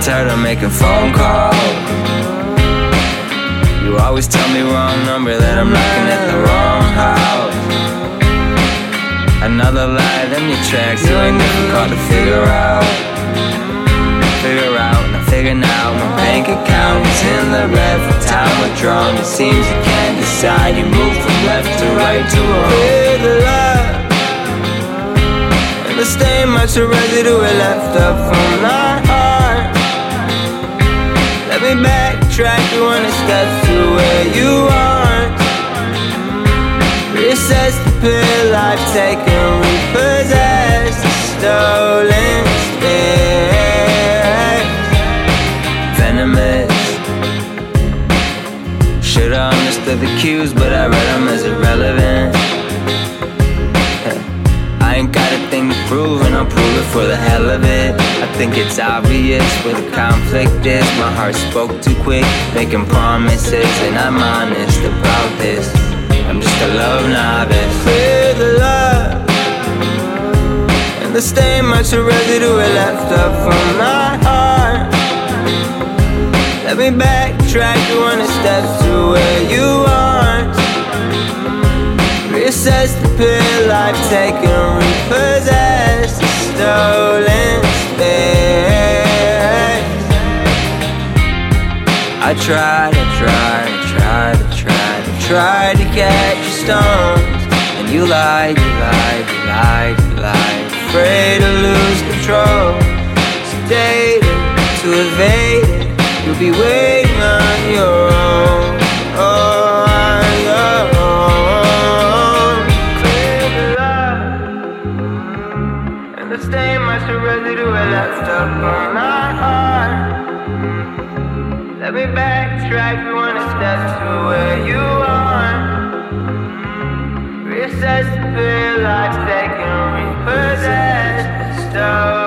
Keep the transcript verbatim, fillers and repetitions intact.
tired of making phone calls. You always tell me wrong number, that I'm knocking at the wrong house. Another lie, them your tracks, you ain't difficult to figure out. Figure out, now figure now, my bank account is in the red for time withdrawn. It seems you can't decide, you move from left to right to wrong. Clear the love, and the stain much of residue it left up from my heart. Let me backtrack through one steps to where you aren't. Reassess the pill I've taken, repossess the stolen space. Venomous. Should've understood the cues, but I read them as irrelevant. I ain't got a thing to prove, and I'll prove it for the hell of it. I think it's obvious where the conflict is. My heart spoke too quick, making promises, and I'm honest about this. I'm just a love novice. Clear the love, and the stain much of residue it left up from my heart. Let me backtrack through one steps to where you aren't. Reassess the pill I've taken, repossess the stolen space. I tried, I tried, I tried, I tried, I tried to catch your stones, and you lied, you lied, you lied, you lied. Afraid to lose control, sedated to evade it. You'll be waiting on your own, oh, on your own. Clear the love, and the stain much of residue I left up on my heart. Let me backtrack through one step to where you are. Reassess the pill I've taken, repossess the stone.